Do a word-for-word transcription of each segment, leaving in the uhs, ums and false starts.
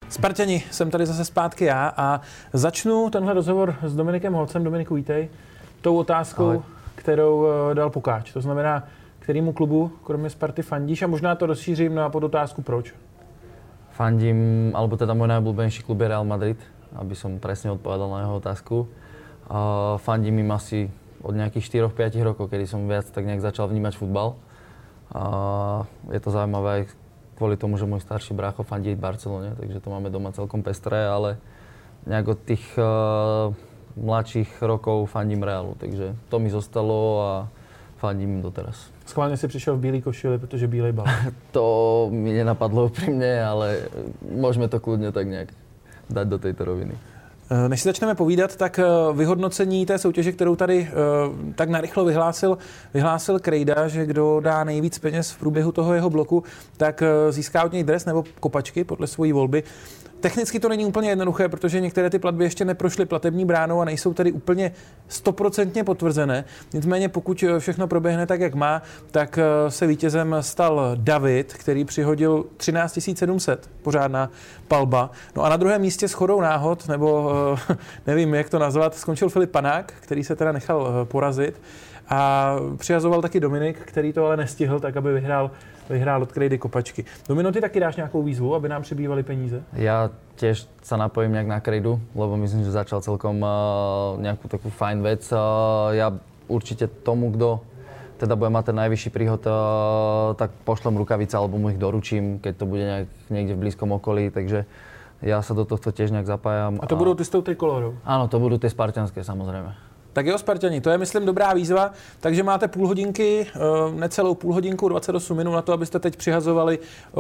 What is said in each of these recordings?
Spartani, jsem tady zase zpátky já a začnu tenhle rozhovor s Dominikem Holcem. Dominiku, vítej. Tou otázkou, Ahoj. kterou dal Pukáč. To znamená, kterému klubu, kromě Sparty, fandíš? A možná to rozšířím na podotázku proč. Fandím, alebo teda môj najobľúbenejší klub je Real Madrid, aby som presne odpovedal na jeho otázku. Uh, fandím im asi od nejakých štyri až päť rokov, kedy som viac tak nejak začal vnímať futbal. Uh, je to zaujímavé aj kvôli tomu, že môj starší brácho fandí Barcelone, takže to máme doma celkom pestré, ale nejak od tých uh, mladších rokov fandím Realu, takže to mi zostalo a fandím im doteraz. Schválně si přišel v bílý košili, protože bílej bal. To mi nenapadlo úprimne, ale môžeme to kľudne tak nejak dať do tejto roviny. Než si začneme povídat, tak vyhodnocení té soutěže, kterou tady tak narychlo vyhlásil, vyhlásil Krejda, že kdo dá nejvíc peněz v průběhu toho jeho bloku, tak získá od něj dres nebo kopačky podle svojí volby. Technicky to není úplně jednoduché, protože některé ty platby ještě neprošly platební bránou a nejsou tedy úplně stoprocentně potvrzené. Nicméně pokud všechno proběhne tak, jak má, tak se vítězem stal David, který přihodil třináct tisíc sedm set, pořádná palba. No a na druhém místě shodou náhod, nebo nevím, jak to nazvat, skončil Filip Panák, který se teda nechal porazit. A přihazoval taky Dominik, který to ale nestihl, tak aby vyhrál, vyhrál od Krejdy kopačky. Domino, ty taky dáš nějakou výzvu, aby nám přibývaly peníze? Ja tiež sa napojím nejak na Krejdu, lebo myslím, že začal celkom uh, nejakú takú fajn vec. Uh, ja určite tomu, kto teda bude mať ten najvyšší príhod, uh, tak pošlem rukavice alebo mu ich doručím, keď to bude nejak, niekde v blízkom okolí, takže ja sa do tohto tiež nejak zapájam. A to a... budú ty s tou trikolórou? Áno, to budú tie spartianské, samozrejme. Tak jo, Spartani, to je, myslím, dobrá výzva, takže máte půl hodinky, necelou půl hodinku, dvacet osm minut na to, abyste teď přihazovali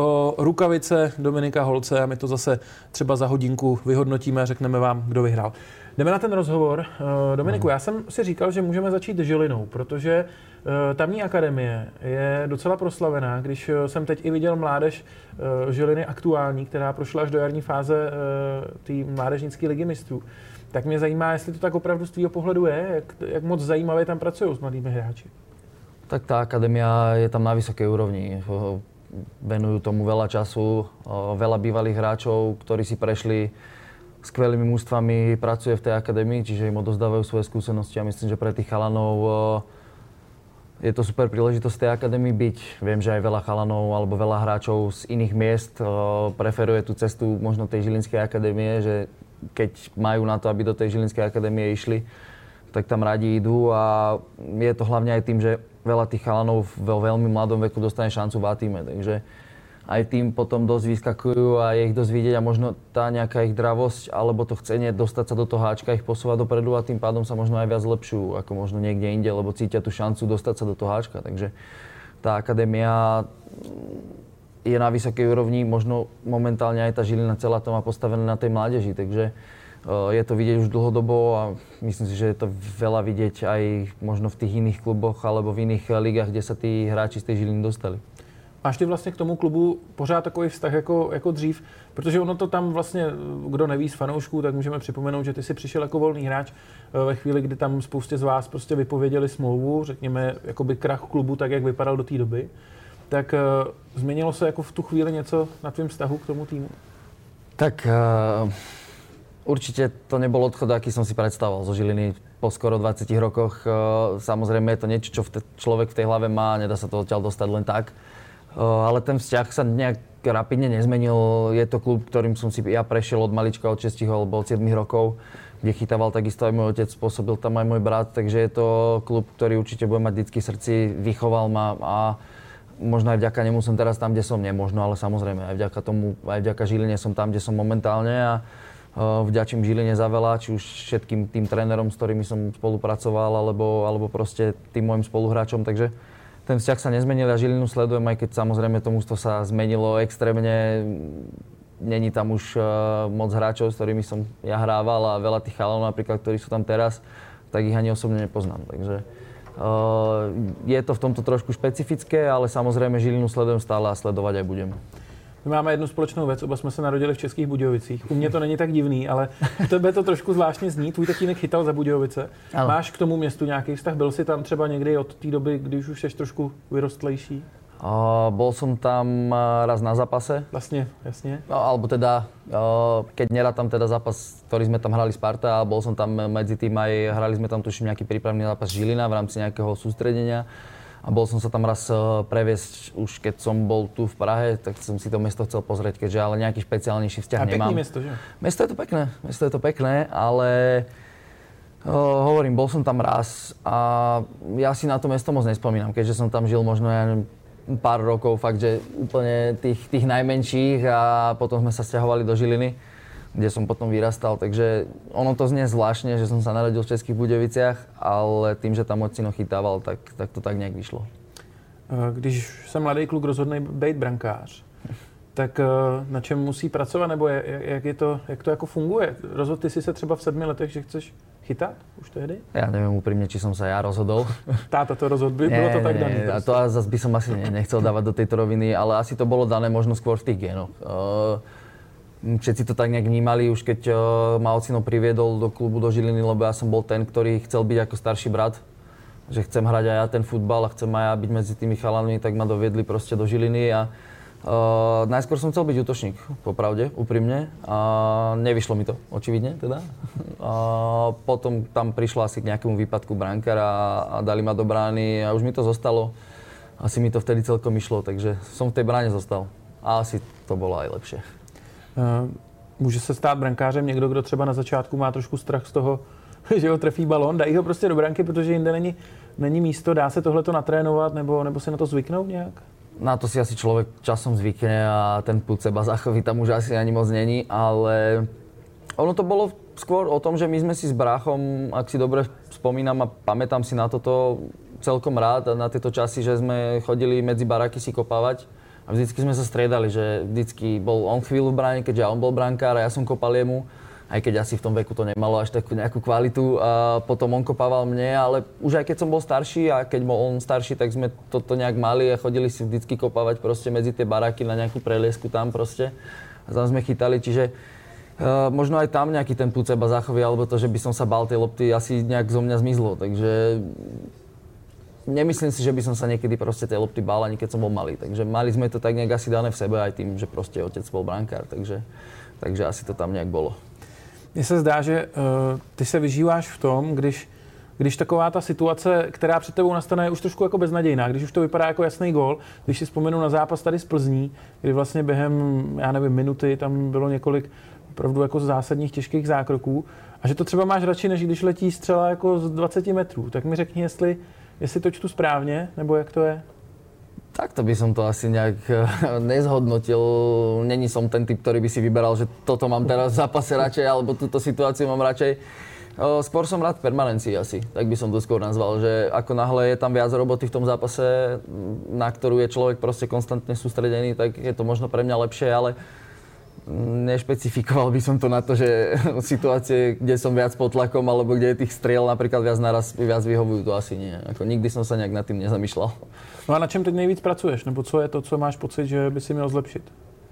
rukavice Dominika Holce a my to zase třeba za hodinku vyhodnotíme a řekneme vám, kdo vyhrál. Jdeme na ten rozhovor. Dominiku, já jsem si říkal, že můžeme začít Žilinou, protože tamní akademie je docela proslavená. Když jsem teď i viděl mládež Žiliny aktuální, která prošla až do jarní fáze té mládežnické ligy mistrů, tak mě zajímá, jestli to tak opravdu z tvýho pohledu je, jak, jak moc zajímavě tam pracují s mladými hráči. Tak tá akadémia je tam na vysokej úrovni. Venujú tomu veľa času, veľa bývalých hráčov, ktorí si prešli skvelými mužstvami, pracuje v tej akadémii, čiže im odozdávajú svoje skúsenosti a myslím, že pre tých chalanov je to super príležitosť tej akadémii byť. Viem, že aj veľa chalanov alebo veľa hráčov z iných miest preferuje tú cestu možno tej Žilinskej akadémie, že keď majú na to, aby do tej Žilinskej akadémie išli, tak tam radi idú a je to hlavne aj tým, že veľa tých chalanov vo veľmi mladom veku dostane šancu v A-tíme, takže aj tým potom dosť vyskakujú a je ich dosť vidieť a možno tá nejaká ich dravosť alebo to chcenie dostať sa do toho háčka ich posúva dopredu a tým pádom sa možno aj viac zlepšujú ako možno niekde inde, lebo cítia tú šancu dostať sa do toho háčka, takže tá akadémia je na vysokej úrovni, možno momentálne aj tá Žilina celá to má postavené na tej mládeži, takže uh, je to vidieť už dlhodobo a myslím si, že je to veľa vidieť aj možno v tých iných kluboch alebo v iných ligách, kde sa tí hráči z tej Žiliny dostali. Máš ty vlastně k tomu klubu pořád takový vztah jako, jako dřív? Protože ono to tam vlastně, kdo neví z fanoušků, tak můžeme připomenout, že ty si přišel jako volný hráč ve chvíli, kdy tam spoustě z vás prostě vypověděli smlouvu, řekněme, jakoby krach klubu, tak jak vypadal do té doby. Tak uh, změnilo se jako v tu chvíli něco na tvým vztahu k tomu týmu? Tak uh, určite to nebol odchod, aký som si predstavoval zo Žiliny po skoro dvadsiatich rokoch. Uh, samozrejme je to niečo, čo v te, človek v tej hlave má, nedá sa to odtiaľ dostať len tak. Uh, ale ten vzťah sa nejak rapidne nezmenil. Je to klub, ktorým som si ja prešiel od malička, od šesť alebo od sedem rokov, kde chytával takisto aj môj otec, spôsobil tam aj môj brat, takže je to klub, ktorý určite bude mať vždycky v srdci, vychoval ma a možno aj vďaka nemu som teraz tam, kde som, nemožno, ale samozrejme aj vďaka tomu, aj vďaka Žiline som tam, kde som momentálne a uh, vďačím Žiline za veľa, či už všetkým tým trénerom, s ktorými som spolupracoval, alebo, alebo proste tým môjim spoluhráčom, takže ten vzťah sa nezmenil a Žilinu sledujem, aj keď samozrejme to mužstvo sa zmenilo extrémne, není tam už uh, moc hráčov, s ktorými som ja hrával a veľa tých chalanov napríklad, ktorí sú tam teraz, tak ich ani osobne nepoznám, takže Uh, je to v tomto trošku špecifické, ale samozrejme Žilinu sledujem stále a sledovať aj budem. My máme jednu společnou věc, oba jsme se narodili v Českých Budějovicích. U mě to není tak divný, ale u tebe to trošku zvláštně zní. Tvůj tatínek chytal za Budějovice. Máš k tomu městu nějaký vztah? Byl jsi tam třeba někdy od té doby, když už jsi trošku vyrostlejší? Uh, bol som tam raz na zápase. Vlastne, jasne. No, alebo teda, uh, keď nerátam teda zápas, ktorý sme tam hrali Sparta, a bol som tam medzi tým aj, hrali sme tam tuším nejaký prípravný zápas Žilina v rámci nejakého sústredenia. A bol som sa tam raz uh, previesť, už keď som bol tu v Prahe, tak som si to mesto chcel pozrieť, keďže ale nejaký špeciálnejší vzťah a nemám. A pekné mesto, že? Mesto je to pekné, mesto je to pekné, ale uh, hovorím, bol som tam raz a ja si na to mesto moc nespomínam, keďže som tam žil možno ja neviem, pár rokov, fakt, že úplne tých, tých najmenších a potom sme sa sťahovali do Žiliny, kde som potom vyrastal, takže ono to znie zvláštne, že som sa narodil v Českých Budějoviciach, ale tým, že tam ocino chytával, tak, tak to tak nějak vyšlo. Když se mladý kluk rozhodne být brankář, tak na čem musí pracovat, nebo jak, je to, jak to jako funguje? Rozhodl ty si se třeba v sedmi letech, že chceš chytat už tehdy? Ja neviem úprimne, či som sa ja rozhodol. Táta to rozhodl, by, bylo to tak dané. A to zase by som asi nechcel dávať do tejto roviny, ale asi to bolo dané možno skôr v tých génoch. Všetci to tak nejak vnímali, už keď ma ocino priviedol do klubu do Žiliny, lebo ja som bol ten, ktorý chcel byť ako starší brat. Že chcem hrať aj ja ten futbal a chcem aj ja byť medzi tými chalanmi, tak ma doviedli proste do Žiliny a Uh, najskôr som chcel byť útočník, popravde, úprimne. A nevyšlo mi to, očividne teda. A potom tam prišlo asi k nejakému výpadku brankára a dali ma do brány a už mi to zostalo. Asi mi to vtedy celkom išlo, takže som v tej bráne zostal. A asi to bolo aj lepšie. Uh, může se stát brankářem někdo, kdo třeba na začátku má trošku strach z toho, že ho trefí balón, dají ho prostě do branky, protože jinde není, není místo, dá se tohleto natrénovat nebo, nebo si na to zvyknout nějak? Na to si asi človek časom zvykne a ten pud seba zachoví tam už asi ani moc není, ale ono to bolo skôr o tom, že my sme si s bráchom, ak si dobre spomínam a pamätám si na toto celkom rád, na tieto časy, že sme chodili medzi baráky si kopávať a vždycky sme sa striedali, že vždycky bol on chvíľu v bráne, keďže on bol brankár a ja som kopal jemu. Aj keď asi v tom veku to nemalo až takú nejakú kvalitu a potom on kopával mne, ale už aj keď som bol starší a keď bol on starší, tak sme toto nejak mali a chodili si vždycky kopávať proste medzi tie baráky na nejakú preliesku tam proste a tam sme chytali, čiže uh, možno aj tam nejaký ten pud seba zachovie, alebo to, že by som sa bál tej lopty, asi nejak zo mňa zmizlo, takže nemyslím si, že by som sa niekedy proste tej lopty bál, ani keď som bol malý, takže mali sme to tak nejak asi dané v sebe aj tým, že proste otec bol brankár, takže, takže asi to tam nejak bolo. Mně se zdá, že uh, ty se vyžíváš v tom, když, když taková ta situace, která před tebou nastane, je už trošku jako beznadějná, když už to vypadá jako jasný gól, když si vzpomenu na zápas tady z Plzní, kdy vlastně během, já nevím, minuty tam bylo několik opravdu jako zásadních těžkých zákroků a že to třeba máš radši, než když letí střela jako z dvacet metrů. Tak mi řekni, jestli, jestli to čtu správně, nebo jak to je? Takto by som to asi nejak nezhodnotil. Není som ten typ, ktorý by si vyberal, že toto mám teraz v zápase radšej, alebo túto situáciu mám radšej. Skôr som rád v permanencii asi, tak by som to skôr nazval, že ako náhle je tam viac roboty v tom zápase, na ktorú je človek proste konstantne sústredený, tak je to možno pre mňa lepšie, ale nešpecifikoval by som to na to, že situácie, kde som viac pod tlakom, alebo kde je tých striel napríklad viac naraz, viac vyhovujú, to asi nie. Ako nikdy som sa nejak nad tým nezamýšľal. No a na čem teď nejvíc pracuješ? Nebo co je to, co máš pocit, že by si měl zlepšit?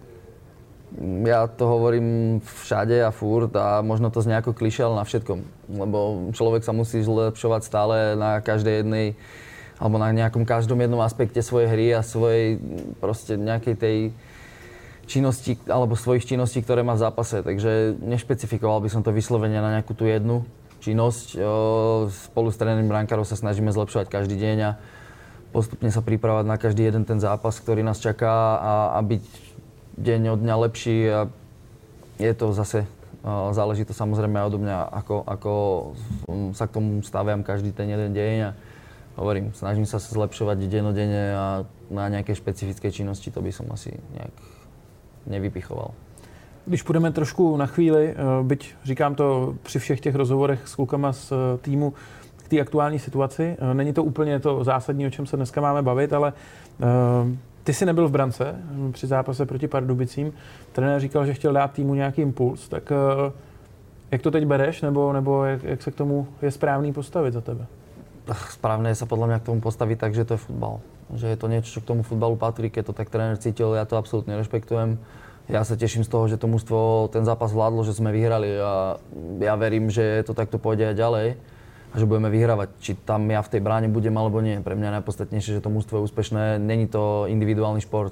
Ja to hovorím všade a furt a možno to znie ako klišé, ale na všetkom. Lebo človek sa musí zlepšovať stále na každej jednej, alebo na nejakom každom jednom aspekte svojej hry a svojej proste nejakej tej činnosti, alebo svojich činností, ktoré má v zápase. Takže nešpecifikoval by som to vyslovene na nejakú tú jednu činnosť. Spolu s trénerom brankárov sa snažíme zlepšovať každý deň a postupne sa pripravať na každý jeden ten zápas, ktorý nás čaká a, a byť deň od dňa lepší. A je to zase, záleží to samozrejme aj odo mňa, ako, ako sa k tomu staviam každý ten jeden deň. A hovorím, snažím sa sa zlepšovať dennodenne a na nejaké špecifické činnosti to by som asi nejak nevypichoval. Když půjdeme trošku na chvíli, byť říkám to při všech těch rozhovorech s klukama z týmu k té aktuální situaci, není to úplně to zásadní, o čem se dneska máme bavit, ale ty jsi nebyl v brance při zápase proti Pardubicím. Trenér říkal, že chtěl dát týmu nějaký impuls, tak jak to teď bereš, nebo, nebo jak, jak se k tomu je správný postavit za tebe? Správne je sa podľa mňa k tomu postaviť tak, že to je futbal. Že je to niečo, čo k tomu futbalu patrí, keď to tak tréner cítil, ja to absolútne rešpektujem. Ja sa teším z toho, že to mužstvo ten zápas vládlo, že sme vyhrali a ja verím, že to takto pôjde aj ďalej. a že budeme vyhrávať. Či tam ja v tej bráne budem alebo nie. Pre mňa je najpodstatnejšie, že to mužstvo je úspešné. Není to individuálny šport.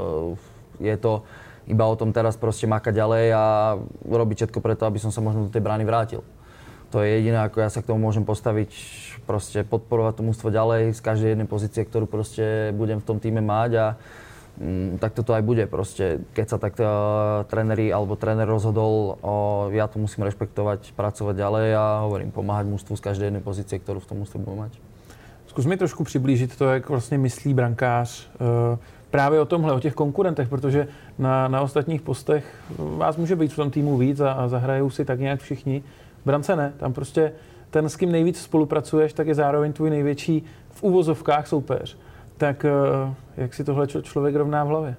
Je to iba o tom teraz proste makať ďalej a robiť všetko preto, aby som sa možno do tej brány vrátil. To je jediné, ako ja sa k tomu môžem postaviť, proste podporovať to mužstvo ďalej z každej jednej pozície, ktorú proste budem v tom týme mať a mm, tak toto aj bude proste. Keď sa tak uh, tréneri alebo tréner rozhodol, uh, ja to musím rešpektovať, pracovať ďalej a hovorím, pomáhať mužstvu z každej jednej pozície, ktorú v tom mužstve budeme mať. Zkus mi trošku přiblížit to, jak vlastně myslí brankář uh, právě o tomhle, o těch konkurentech, protože na, na ostatních postech vás může být v tom týmu víc a, a zahrajou si tak nějak všichni. V brance ne, tam prostě ten, s kým nejvíc spolupracuješ, tak je zároveň tvůj největší v úvozovkách soupeř. Tak jak si tohle člověk rovná v hlavě?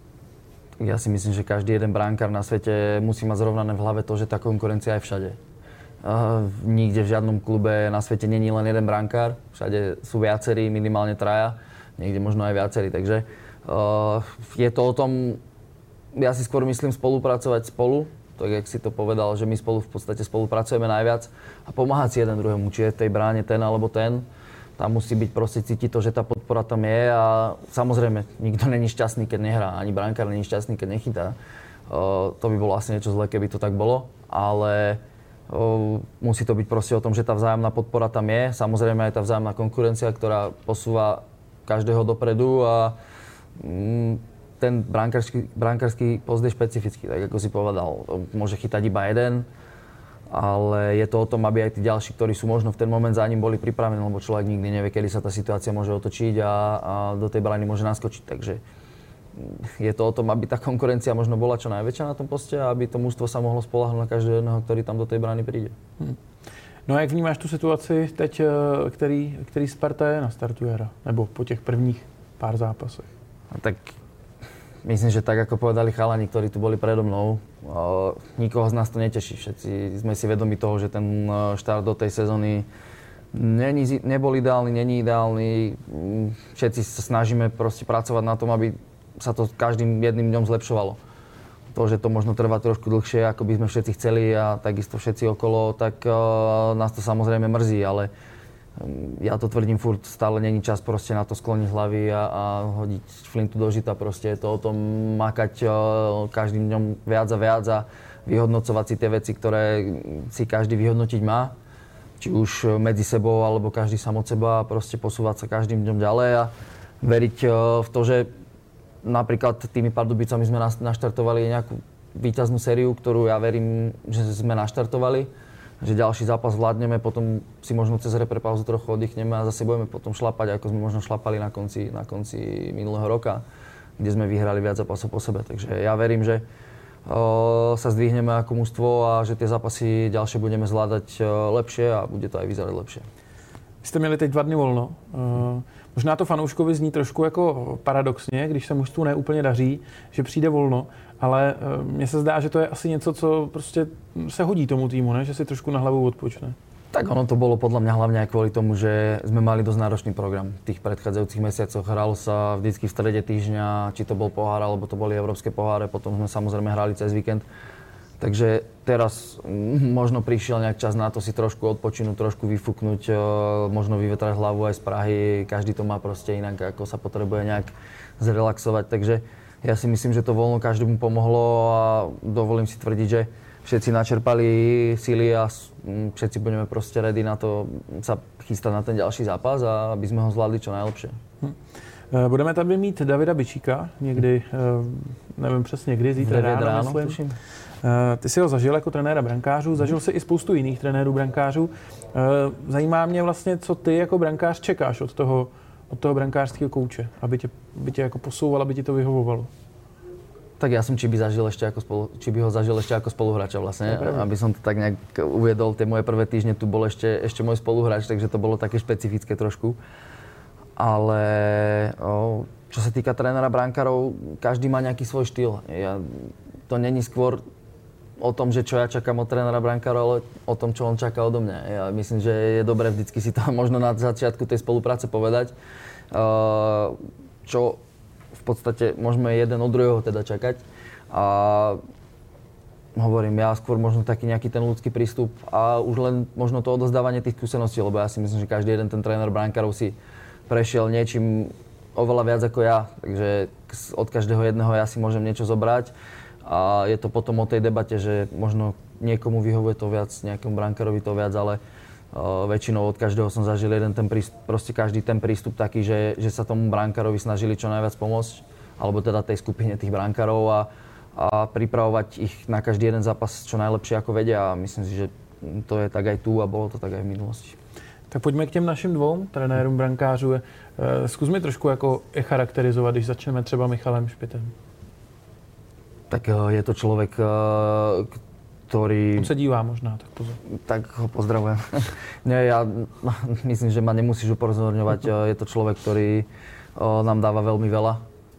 Ja si myslím, že každý jeden brankár na svete musí mať zrovnané v hlave to, že tá konkurencia je všade. Uh, nikde v žiadnom klube na svete není len jeden brankár, všade sú viacerí, minimálne traja, niekde možno aj viacerí, takže uh, je to o tom, ja si skôr myslím spolupracovať spolu, tak jak si to povedal, že my spolu v podstate spolupracujeme najviac a pomáhať si jeden druhému, či je v tej bráne ten alebo ten. Tam musí byť proste cítiť to, že tá podpora tam je a samozrejme, nikto není šťastný, keď nehrá, ani brankár není šťastný, keď nechytá. Uh, to by bolo asi niečo zlé, keby to tak bolo, ale uh, musí to byť proste o tom, že tá vzájomná podpora tam je. Samozrejme aj tá vzájomná konkurencia, ktorá posúva každého dopredu a um, ten brankársky, brankársky post je špecifický, tak ako si povedal. Môže chytať iba jeden, ale je to o tom, aby aj tí ďalší, ktorí sú možno v ten moment za ním, boli pripravení, lebo človek nikdy nevie, kedy sa tá situácia môže otočiť a, a do tej brány môže naskočiť. Takže je to o tom, aby tá konkurencia možno bola čo najväčšia na tom poste a aby to mužstvo sa mohlo spoľahnúť na každého jedného, ktorý tam do tej brány príde. Hmm. No a jak vnímáš tu situaci teď, který, který Sparta je na startu jara? Nebo po těch prvních pár zápasech? A tak myslím, že tak, ako povedali chalani, ktorí tu boli predo mnou, uh, nikoho z nás to neteší. Všetci sme si vedomi toho, že ten štart do tej sezóny není, nebol ideálny, není ideálny. Všetci sa snažíme proste pracovať na tom, aby sa to každým jedným dňom zlepšovalo. To, že to možno trvá trošku dlhšie, ako by sme všetci chceli a takisto všetci okolo, tak uh, nás to samozrejme mrzí, ale ja to tvrdím furt, stále není čas proste na to skloniť hlavy a, a hodiť flintu do žita. Proste je to o tom makať uh, každým dňom viac a viac a vyhodnocovať si tie veci, ktoré si každý vyhodnotiť má. Či už medzi sebou, alebo každý sám od seba a proste posúvať sa každým dňom ďalej a veriť uh, v to, že napríklad tými Pardubicami sme naštartovali nejakú víťaznú sériu, ktorú ja verím, že sme naštartovali. Že ďalší zápas vládneme, potom si možno cez reprepauzu trochu oddychneme a zase budeme potom šlapať, ako sme možno šlapali na konci, na konci minulého roka, kde sme vyhrali viac zápasov po sebe. Takže ja verím, že o, sa zdvihneme ako mužstvo a že tie zápasy ďalšie budeme zvládať o, lepšie a bude to aj vyzerať lepšie. Vy jste měli teď dva dny volno. Uh, možná to fanouškovi zní trošku jako paradoxně, když se mužstvu neúplně daří, že přijde volno, ale uh, mně se zdá, že to je asi něco, co prostě se hodí tomu týmu, ne? Že si trošku na hlavu odpočne. Tak ono to bolo podľa mňa hlavne aj kvôli tomu, že sme mali dosť náročný program v tých predchádzajúcich mesiacoch. Hralo sa vždycky v strede týždňa, či to bol pohár, alebo to boli európske poháre, potom sme samozrejme hrali cez víkend. Takže teraz možno prišiel nejak čas na to si trošku odpočinúť, trošku vyfúknuť, možno vyvetrať hlavu aj z Prahy. Každý to má proste inak, ako sa potrebuje nejak zrelaxovať. Takže ja si myslím, že to voľno každému pomohlo a dovolím si tvrdiť, že všetci načerpali síly a všetci budeme proste ready na to sa chystať na ten ďalší zápas a aby sme ho zvládli čo najlepšie. Hm. Budeme tady mít Davida Bičíka někdy, nevím přesně kdy, zítra ráno, ráno, myslím. Tuším. Ty jsi ho zažil jako trenéra brankářů, zažil jsi i spoustu jiných trenérů brankářů. Zajímá mě vlastně, co ty jako brankář čekáš od toho, od toho brankářského kouče, aby tě, aby tě jako posouval, aby ti to vyhovovalo. Tak ja som Čiby zažil ešte ako spolu, Čiby ho zažil ešte ako spoluhráča vlastne, aby som to tak nejak uviedol. Tie moje prvé týždne tu bol ešte, ešte môj spoluhráč, takže to bolo také špecifické trošku. Ale o, čo sa týka trénera brankárov, každý má nejaký svoj štýl. Ja, to není skôr o tom, že čo ja čakám od trénera brankárov, ale o tom, čo on čaká odo mňa. Ja myslím, že je dobré vždycky si to možno na začiatku tej spolupráce povedať, uh, čo v podstate môžeme jeden od druhého teda čakať. A hovorím, ja skôr možno taký nejaký ten ľudský prístup a už len možno to odozdávanie tých skúseností, lebo ja si myslím, že každý jeden ten tréner brankárov si prešiel niečím oveľa viac ako ja, takže od každého jedného ja si môžem niečo zobrať a je to potom o tej debate, že možno niekomu vyhovuje to viac, nejakému brankárovi to viac, ale uh, väčšinou od každého som zažil jeden ten prístup, proste každý ten prístup taký, že, že sa tomu brankárovi snažili čo najviac pomôcť, alebo teda tej skupine tých brankárov a, a pripravovať ich na každý jeden zápas čo najlepšie ako vedia a myslím si, že to je tak aj tu a bolo to tak aj v minulosti. Tak pojďme k těm našim dvou trenérům brankářů. Zkus mi trošku jako je charakterizovat, když začneme třeba Michalem Špitem. Tak je to človek, ktorý... On se dívá možná, tak pozor. Tak ho pozdravujem. Nie, ja myslím, že ma nemusíš upozorňovať. Je to človek, ktorý nám dáva veľmi veľa.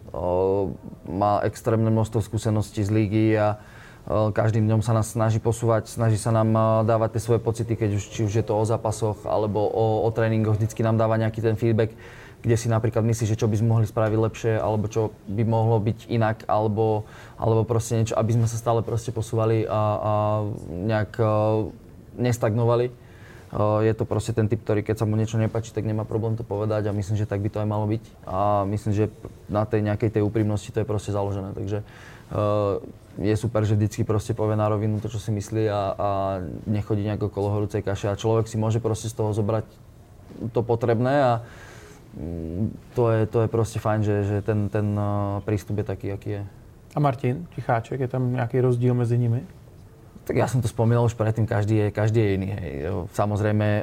Má extrémne množstvo skúseností z lígy a každým dňom sa nás snaží posúvať, snaží sa nám dávať tie svoje pocity, keď už, či už je to o zápasoch alebo o, o tréningoch, vždycky nám dáva nejaký ten feedback, kde si napríklad myslí, že čo by sme mohli spraviť lepšie, alebo čo by mohlo byť inak, alebo, alebo proste niečo, aby sme sa stále proste posúvali a, a nejak uh, nestagnovali. Uh, je to proste ten typ, ktorý keď sa mu niečo nepáči, tak nemá problém to povedať a myslím, že tak by to aj malo byť. A myslím, že na tej nejakej tej úprimnosti to je proste založené, takže uh, je super, že vždycky proste povie na rovinu to, čo si myslí a, a nechodí nejako okolo horúcej kaše a človek si môže proste z toho zobrať to potrebné a to je, to je proste fajn, že, že ten, ten prístup je taký, aký je. A Martin Ticháček, je tam nejaký rozdíl mezi nimi? Tak ja som to spomínal už predtým, každý je, každý je iný. Hej. Samozrejme,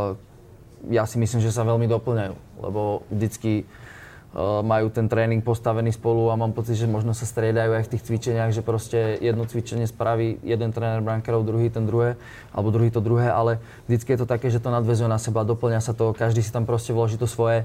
ja si myslím, že sa veľmi doplňajú, lebo vždycky majú ten tréning postavený spolu a mám pocit, že možno sa striedajú aj v tých cvičeniach, že proste jedno cvičenie spraví jeden tréner brankárov, druhý ten druhé, alebo druhý to druhé, ale vždycky je to také, že to nadväzuje na seba, doplňa sa to, každý si tam proste vloží to svoje.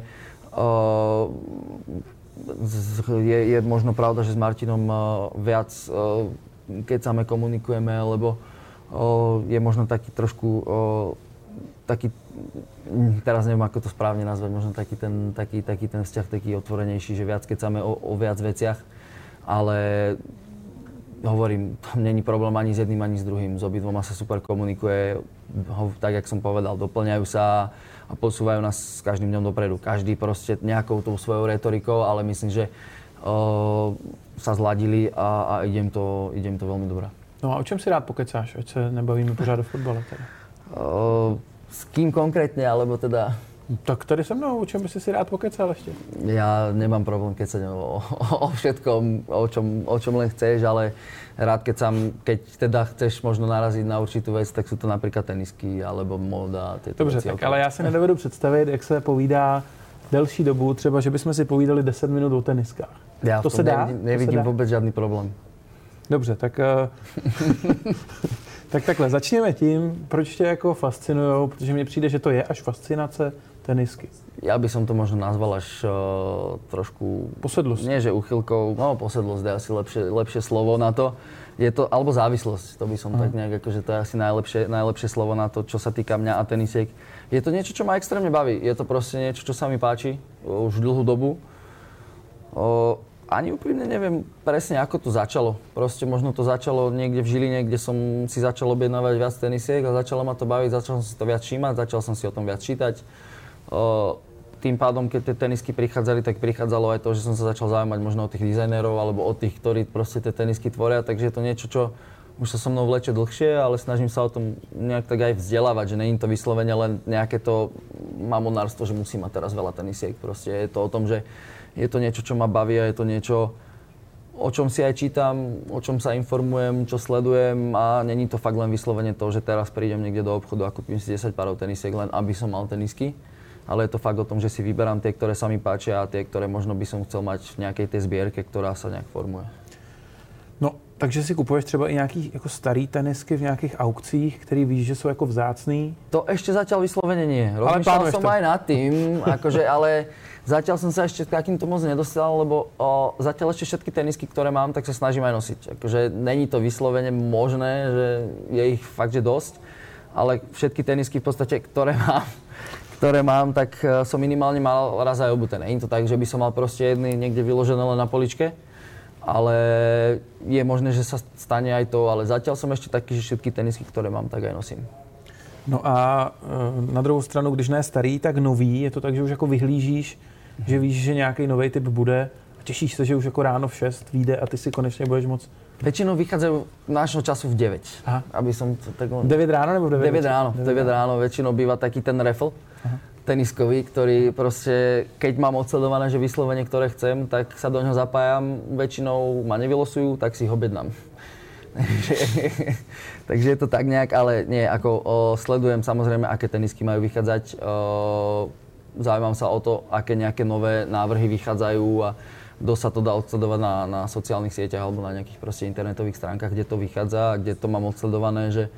Je, je možno pravda, že s Martinom viac keď same komunikujeme, lebo je možno taký trošku taký, teraz neviem, ako to správne nazvať, možno taký ten, taký, taký ten vzťah, taký otvorenejší, že viac keď sáme o, o viac veciach, ale hovorím, tam není problém ani s jedným, ani s druhým, s obidvoma sa super komunikuje, tak, jak som povedal, doplňajú sa a posúvajú nás s každým dňom dopredu. Každý proste nejakou tou svojou retorikou, ale myslím, že o, sa zladili a, a idem, to, idem to veľmi dobré. No a o čem si rád pokecáš, ať se nebavíme pořád o fotbale teda? O, S kým konkrétne, alebo teda... Tak tady se mnou, o čem by si si rád pokecal ešte? Ja nemám problém kecať o, o, o všetkom, o čom, o čom len chceš, ale rád kecam, keď teda chceš možno naraziť na určitú vec, tak sú to napríklad tenisky, alebo móda, tieto Dobře, veci. Dobře, tak ale já si nedovedu představit, jak se povídá delší dobu, třeba, že bychom si povídali deset minut o teniskách. Ja to se dá? Nevidím, nevidím vôbec žiadny problém. Dobře, tak... Tak takhle, začněme tím, proč tě jako fascinujou, protože mně přijde, že to je až fascinace tenisky. Ja by som to možno nazval až uh, trošku... Posedlosť. Nie, že uchylkou, no posedlosť je asi lepšie, lepšie slovo na to. Je to, alebo závislosť, to by som Aha. tak nejak, akože to je asi najlepšie, najlepšie slovo na to, čo sa týka mňa a tenisiek. Je to niečo, čo ma extrémne baví. Je to proste niečo, čo sa mi páči už dlhú dobu. Uh, Ani úprimne neviem presne, ako to začalo. Proste možno to začalo niekde v Žiline, kde som si začal objednávať viac tenisiek a začalo ma to baviť, začal som si to viac všímať, začal som si o tom viac čítať. Tým pádom, keď tie tenisky prichádzali, tak prichádzalo aj to, že som sa začal zaujímať možno o tých dizajnerov alebo o tých, ktorí proste tie tenisky tvoria, takže je to niečo, čo už sa so mnou vleče dlhšie, ale snažím sa o tom nejak tak aj vzdelávať, že nie je to vyslovene len nejaké to mamonárstvo, že musím mať teraz veľa tenisiek. Proste je to o tom, že je to niečo, čo ma baví a je to niečo, o čom si aj čítam, o čom sa informujem, čo sledujem a není to fakt len vyslovene to, že teraz prídem niekde do obchodu a kúpim si desať párov tenisiek len aby som mal tenisky. Ale je to fakt o tom, že si vyberám tie, ktoré sa mi páčia a tie, ktoré možno by som chcel mať v nejakej tej zbierke, ktorá sa nejak formuje. No, takže si kupuješ třeba i nějaký jako starý tenisky v nějakých aukcích, který víš, že jsou jako vzácný? To ešte zatiaľ vyslovene nie. Rozmýšľal som to. aj nad tým, akože, ale zatiaľ som sa ešte k takýmto moc nedostal, lebo o, zatiaľ ešte všetky tenisky, ktoré mám, tak sa snažím aj nosiť. Akože není to vyslovene možné, že je ich fakt, že dosť, ale všetky tenisky v podstate, ktoré mám, ktoré mám, tak som minimálne mal raz aj obuté. Nie je to tak, že by som mal proste jedny niekde vyložené len na poličke. ale je možné, že sa stane aj to, ale zatiaľ som ešte taký, že všetky tenisky, ktoré mám, tak aj nosím. No a na druhou stranu, když ne starý, tak nový, je to tak, že už jako vyhlížíš, že víš, že nějaký nový typ bude a těšíš se, že už jako ráno v šest vyjde a ty si konečně budeš moc. Väčšinou vychádzajú nášho času v deväť. Aha. Aby som to tak... deväť ráno nebo v deväť? deväť ráno. deväť ráno väčšinou býva taký ten raffle teniskový, ktorý proste, keď mám odsledované, že vyslovene, ktoré chcem, tak sa do ňoho zapájam. Väčšinou ma nevylosujú, tak si ho objednám. Takže je to tak nejak, ale nie, ako o, sledujem samozrejme, aké tenisky majú vychádzať. O, zaujímam sa o to, aké nejaké nové návrhy vychádzajú a kto sa to dá odsledovať na, na sociálnych sieťach alebo na nejakých proste internetových stránkach, kde to vychádza a kde to mám odsledované, že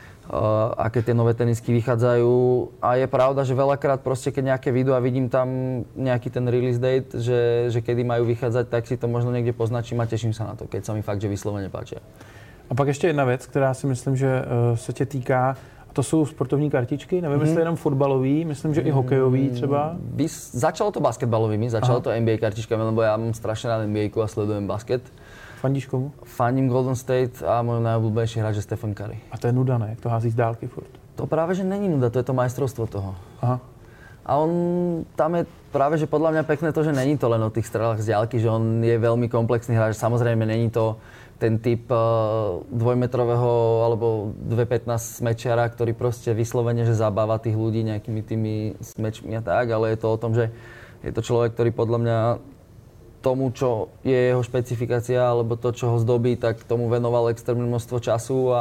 uh, aké tie nové tenisky vychádzajú. A je pravda, že veľakrát proste, keď nejaké video a vidím tam nejaký ten release date, že, že kedy majú vychádzať, tak si to možno niekde poznačím a teším sa na to, keď sa mi fakt, že vyslovene páčia. A pak ještě jedna věc, která si myslím, že uh, se tě týká. To jsou sportovní kartičky, nevím, jestli mm. jenom fotbalový, myslím, že i hokejový třeba. Vys- začalo to basketbalovými, začalo Aha. to N B A kartičkami, lebo ja mám strašne rád N B A a sledujem basket. Fandíš komu? Fandím Golden State a môj najobľúbenejší hráč je Stephen Curry. A to je nuda, ne? Jak to hází z dálky furt? To práve, že není nuda, to je to majstrovstvo toho. Aha. A on, tam je práve, že podľa mňa pekné to, že není to len o tých strelách z diaľky, že on je veľmi komplexný hráč. Samozrejme, není to ten typ uh, dvojmetrového alebo dve pätnásť smečiara, ktorý proste vyslovene, že zabáva tých ľudí nejakými tými smečmi a tak, ale je to o tom, že je to človek, ktorý podľa mňa tomu, čo je jeho špecifikácia alebo to, čo ho zdobí, tak tomu venoval extrémne množstvo času a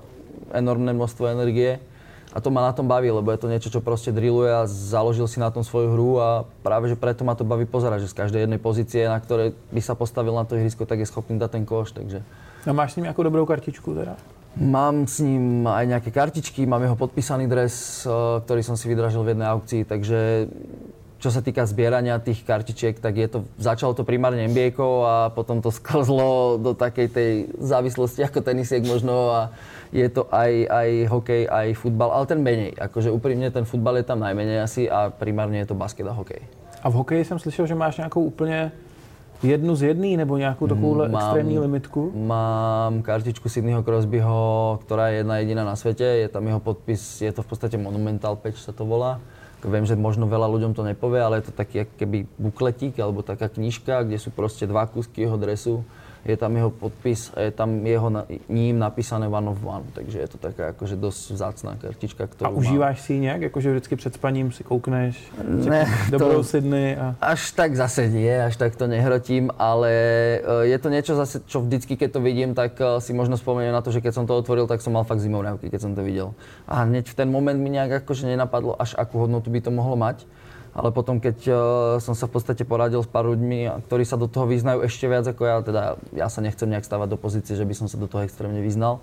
enormné množstvo energie. A to ma na tom baví, lebo je to niečo, čo proste drilluje a založil si na tom svoju hru a práve, že preto ma to baví pozerať, že z každej jednej pozície, na ktorej by sa postavil na to ihrisko, tak je schopný dať ten koš, takže... A máš s ním nejakú dobrou kartičku teda? Mám s ním aj nejaké kartičky, mám jeho podpísaný dres, ktorý som si vydražil v jednej aukcii, takže čo sa týka zbierania tých kartičiek, tak je to, začalo to primárne N B A-kou a potom to sklzlo do takej tej závislosti ako tenisiek možno a je to aj, aj hokej, aj futbal, ale ten menej. Akože úprimne ten futbal je tam najmenej asi a primárne je to basket a hokej. A v hokeji jsem slyšel, že máš nějakou úplně jednu z jedný nebo nějakou takovouhle mám, extrémní limitku? Mám kartičku Sidneyho Crosbyho, ktorá je jedna jediná na svete. Je tam jeho podpis, je to v podstate monumental patch sa to volá. Viem, že možno veľa ľuďom to nepovie, ale je to taký keby bukletík alebo taká knižka, kde sú proste dva kúsky jeho dresu. Je tam jeho podpis a je tam jeho na, ním napísané one of one, takže je to taká akože dosť vzácná kartička, ktorú A užíváš mám. Si ji nejak? Akože vždycky před spaním si koukneš? Ne, dobrou Sydney a... Až tak zase nie, až tak to nehrotím, ale je to niečo zase, čo vždycky, keď to vidím, tak si možno spomeniem na to, že keď som to otvoril, tak som mal fakt zimomriavky, keď som to videl. A hneď v ten moment mi nejak akože nenapadlo, až akú hodnotu by to mohlo mať. Ale potom, keď uh, som sa v podstate poradil s pár ľuďmi, ktorí sa do toho vyznajú ešte viac ako ja, teda ja sa nechcem nejak stávať do pozície, že by som sa do toho extrémne vyznal,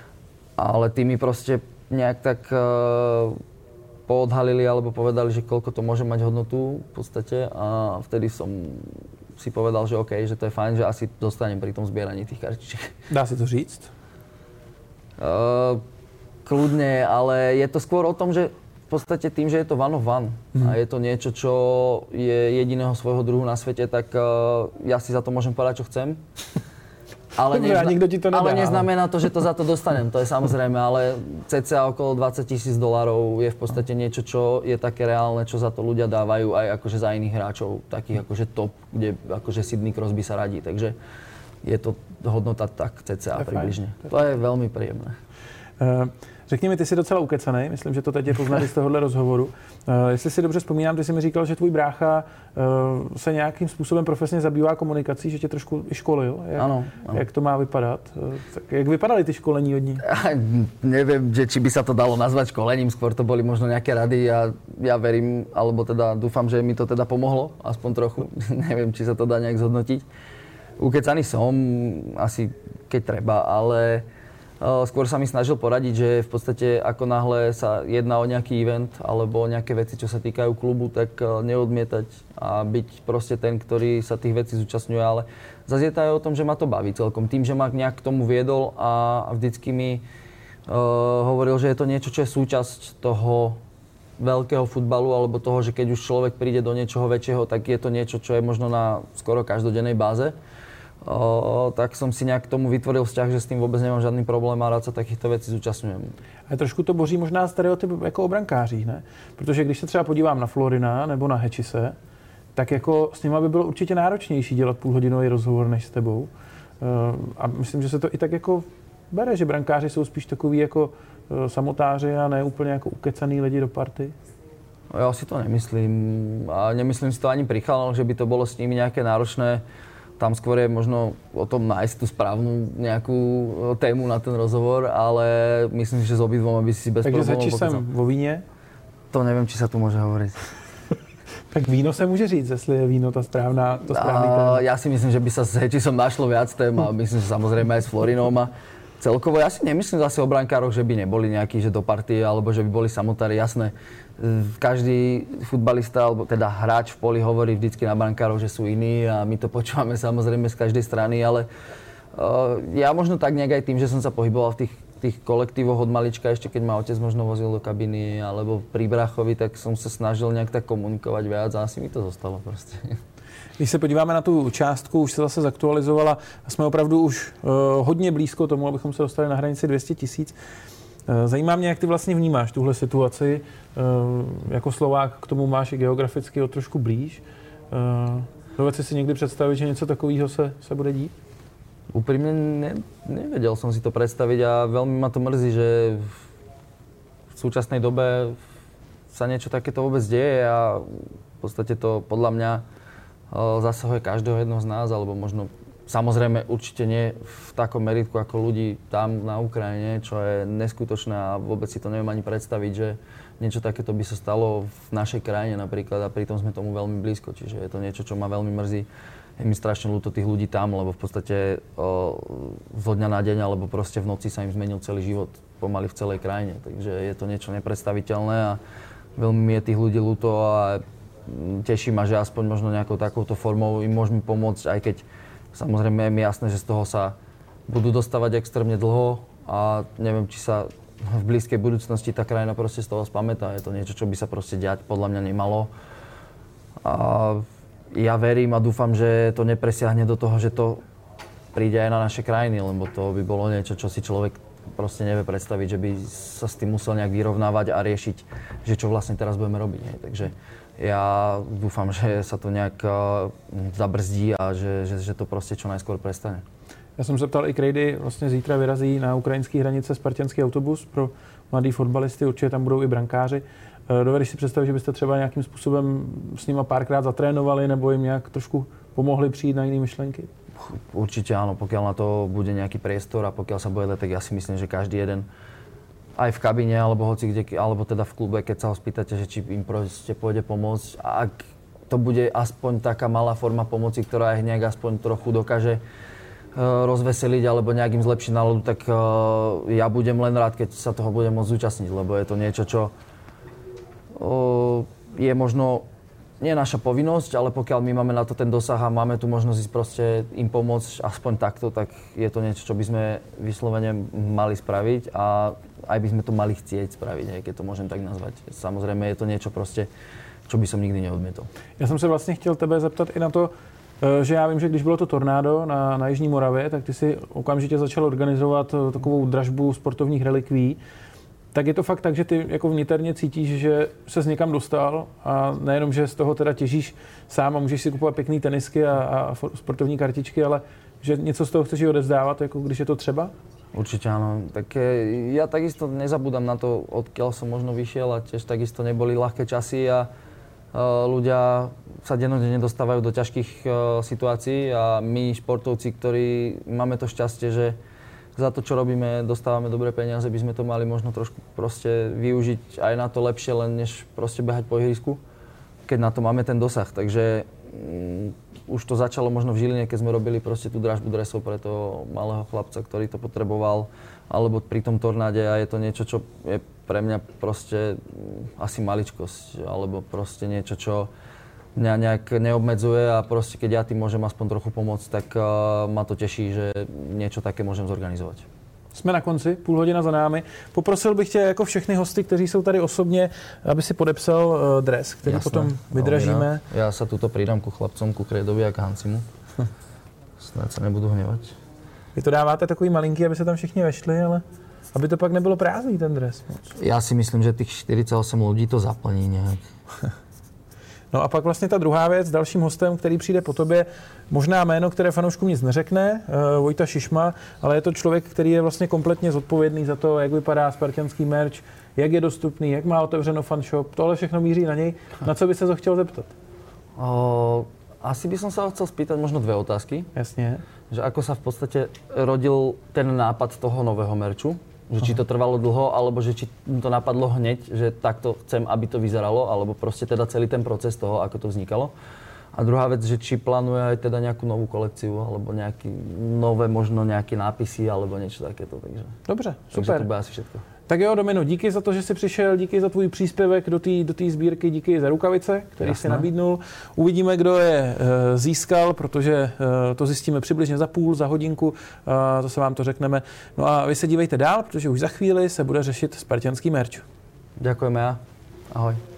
ale tí mi proste nejak tak uh, poodhalili alebo povedali, že koľko to môže mať hodnotu v podstate a vtedy som si povedal, že OK, že to je fajn, že asi dostanem pri tom zbieraní tých kartičiek. Dá si to říct? Uh, kľudne, ale je to skôr o tom, že v podstate tým, že je to one of one hmm. a je to niečo, čo je jediného svojho druhu na svete, tak uh, ja si za to môžem povedať, čo chcem. Ale, Dobre, nezna- nikto ti to nedá, ale neznamená to, že to za to dostanem, to je samozrejme, ale cca okolo dvadsať tisíc dolárov je v podstate niečo, čo je také reálne, čo za to ľudia dávajú aj akože za iných hráčov, takých akože top, kde akože Sidney Crosby sa radí, takže je to hodnota tak cca približne. To je veľmi príjemné. Uh... Řekni mi, ty jsi docela ukecanej, myslím, že to teď je poznat z tohohle rozhovoru. Uh, jestli si dobře vzpomínám, ty jsi mi říkal, že tvůj brácha uh, se nějakým způsobem profesně zabývá komunikací, že tě trošku i školil. Jak, ano, ano. Jak to má vypadat? Uh, tak jak vypadaly ty školení od ní? Ja, neviem, že či by sa to dalo nazvať školením, skôr to boli možno nejaké rady a ja verím, alebo teda dúfam, že mi to teda pomohlo, aspoň trochu. Neviem, či sa to dá nejak zhodnotiť. Ukecaný som, asi keď treba, ale skôr sa mi snažil poradiť, že v podstate ako náhle sa jedná o nejaký event alebo o nejaké veci, čo sa týkajú klubu, tak neodmietať a byť proste ten, ktorý sa tých vecí zúčastňuje, ale zase je to aj o tom, že ma to baví celkom. Tým, že ma nejak k tomu viedol a vždycky mi uh, hovoril, že je to niečo, čo je súčasť toho veľkého futbalu alebo toho, že keď už človek príde do niečoho väčšieho, tak je to niečo, čo je možno na skoro každodennej báze. O, tak som si nejak k tomu vytvoril vzťah, že s tým vôbec nemám žádný problém a rád sa takýchto vecí zúčastňujem. A trošku to boří možná stereotyp jako o brankářích, ne? Protože když se třeba podívám na Florina nebo na Hečise, tak jako s nima by bylo určitě náročnější dělat půlhodinový rozhovor než s tebou. A myslím, že se to i tak jako bere, že brankáři jsou spíš takový jako samotáři a ne úplně jako ukecaný lidi do party. Ja si to nemyslím. A nemyslím si to ani pri chalaноch, že by to bolo s nimi nejaké náročné. Tam skôr je možno o tom nájsť tú správnu nejakú tému na ten rozhovor, ale myslím si, že s obidvoma by si bez problémov... Takže začíš sem vo víně? To neviem, či sa tu môže hovoriť. Tak víno se může říct, jestli je víno ta správná, to správný téma. Ja si myslím, že by sa s Hečisom našlo viac tém a myslím, že samozrejme aj s Florinom. A celkovo ja si nemyslím zase o brankároch, že by neboli nejakí, že do party, alebo že by boli samotári. Jasné, každý futbalista, alebo teda hráč v poli hovorí vždycky na brankárov, že sú iní a my to počúvame samozrejme z každej strany, ale uh, ja možno tak nejak aj tým, že som sa pohyboval v tých, tých kolektívoch od malička, ešte keď ma otec možno vozil do kabiny alebo pri brachovi, tak som sa snažil nejak tak komunikovať viac a asi mi to zostalo proste. Když se podíváme na tu částku, už se zase zaktualizovala a jsme opravdu už uh, hodně blízko tomu, abychom se dostali na hranici dvě stě tisíc. Uh, zajímá mě, jak ty vlastně vnímáš tuhle situaci. Uh, jako Slovák k tomu máš i geograficky o trošku blíž. Uh, Doved si někdy představit, že něco takového se, se bude dít? Úprimne ne, nevedel som si to predstaviť a veľmi ma to mrzí, že v súčasnej dobe sa niečo takéto vôbec deje a v podstate to podľa mňa zasahuje každého jedného z nás, alebo možno samozrejme určite nie v takom meritku ako ľudí tam na Ukrajine, čo je neskutočné a vôbec si to neviem ani predstaviť, že niečo takéto by sa stalo v našej krajine napríklad a pritom sme tomu veľmi blízko, čiže je to niečo, čo ma veľmi mrzí. Je mi strašne ľúto tých ľudí tam, lebo v podstate o, zo dňa na deň alebo proste v noci sa im zmenil celý život pomaly v celej krajine, takže je to niečo nepredstaviteľné a veľmi mi je tých ľudí ľúto a teší ma, že aspoň možno nejakou takouto formou im môžeme pomôcť, aj keď samozrejme je mi jasné, že z toho sa budú dostávať extrémne dlho a neviem, či sa v blízkej budúcnosti tá krajina proste z toho spamätá. Je to niečo, čo by sa proste diať podľa mňa nemalo. A ja verím a dúfam, že to nepresiahne do toho, že to príde aj na naše krajiny, lebo to by bolo niečo, čo si človek proste nevie predstaviť, že by sa s tým musel nejak vyrovnávať a riešiť, že čo vlastne teraz budeme robiť. Hej. Takže ja dúfam, že sa to nejak uh, zabrzdí a že, že, že to proste čo najskôr prestane. Já jsem se ptal i Krejdy, vlastně zítra vyrazí na ukrajinské hranice spartanský autobus pro mladý fotbalisty, určitě tam budou i brankáři. Dovedeš si představit, že byste třeba nějakým způsobem s nima párkrát zatrénovali nebo jim nějak trošku pomohli přijít na jiné myšlenky? Určite áno, pokiaľ na to bude nejaký priestor a pokiaľ sa bude dať, tak ja si myslím, že každý jeden aj v kabíne alebo hoci kde, alebo teda v klube, keď sa ho spýtate, že či im proste pôjde pomôcť a ak to bude aspoň taká malá forma pomoci, ktorá ich nejak aspoň trochu dokáže uh, rozveseliť alebo nejak im zlepšiť náladu, tak uh, ja budem len rád, keď sa toho budem môcť zúčastniť, lebo je to niečo, čo uh, je možno nie naša povinnosť, ale pokiaľ my máme na to ten dosah a máme tu možnosť ísť proste im pomôcť aspoň takto, tak je to niečo, čo by sme vyslovene mali spraviť a aj by sme to mali chcieť spraviť, hej, keď to môžem tak nazvať. Samozrejme je to niečo proste, čo by som nikdy neodmietol. Já jsem se vlastně chtěl tebe zeptat i na to, že já vím, že když bylo to tornádo na, na Jižní Moravě, tak ty si okamžitě začal organizovat takovou dražbu sportovních relikví. Tak je to fakt tak, že ty jako vniterně cítíš, že ses někam dostal a nejenom, že z toho teda těžíš sám a můžeš si kupovat pěkný tenisky a, a sportovní kartičky, ale že něco z toho chceš i odevzdávat, jako když je to třeba? Určite áno. Tak ja takisto nezabúdam na to, odkiaľ som možno vyšiel a tiež takisto neboli ľahké časy a uh, ľudia sa dennodenne dostávajú do ťažkých uh, situácií a my športovci, ktorí máme to šťastie, že za to, čo robíme, dostávame dobré peniaze, by sme to mali možno trošku proste využiť aj na to lepšie, len než proste behať po ihrisku, keď na to máme ten dosah. Takže um, už to začalo možno v Žiline, keď sme robili proste tú dražbu dresov pre toho malého chlapca, ktorý to potreboval, alebo pri tom tornáde a je to niečo, čo je pre mňa proste asi maličkosť, alebo proste niečo, čo mňa nejak neobmedzuje a proste keď ja tým môžem aspoň trochu pomôcť, tak uh, ma to teší, že niečo také môžem zorganizovať. Jsme na konci, půl hodina za námi. Poprosil bych tě jako všechny hosty, kteří jsou tady osobně, aby si podepsal uh, dres, který Jasné, potom vydražíme. Ja sa tuto pridám ku chlapcom, ku Krejdovi a k Hancimu. Snad se nebudu hněvat. Vy to dáváte takový malinký, aby se tam všichni vešli, ale aby to pak nebylo prázdný ten dres. Já si myslím, že těch čtyřicet osm lidí to zaplní nějak. No a pak vlastně ta druhá věc, dalším hostem, který přijde po tobě, možná jméno, které fanouškům nic neřekne, uh, Vojta Šišma, ale je to člověk, který je vlastně kompletně zodpovědný za to, jak vypadá spartanský merch, jak je dostupný, jak má otevřeno fanshop, tohle všechno míří na něj. Na co by se to chtěl zeptat? O, asi by som sa chcel spýtať možno dve otázky. Jasně. Že ako sa v podstate rodil ten nápad toho nového merču? Že či to trvalo dlho, alebo že či to napadlo hneď, že takto chcem, aby to vyzeralo, alebo proste teda celý ten proces toho, ako to vznikalo. A druhá vec, že či plánuje aj teda nejakú novú kolekciu, alebo nejaký nové, možno nejaké nápisy, alebo niečo takéto. Takže, Dobře, super. Takže to bude asi všetko. Tak jo, Domino, díky za to, že jsi přišel, díky za tvůj příspěvek do té do té sbírky, díky za rukavice, který Jasné. jsi nabídnul. Uvidíme, kdo je e, získal, protože e, to zjistíme přibližně za půl, za hodinku, e, zase vám to řekneme. No a vy se dívejte dál, protože už za chvíli se bude řešit spartanský merch. Ďakujeme, ja. Ahoj.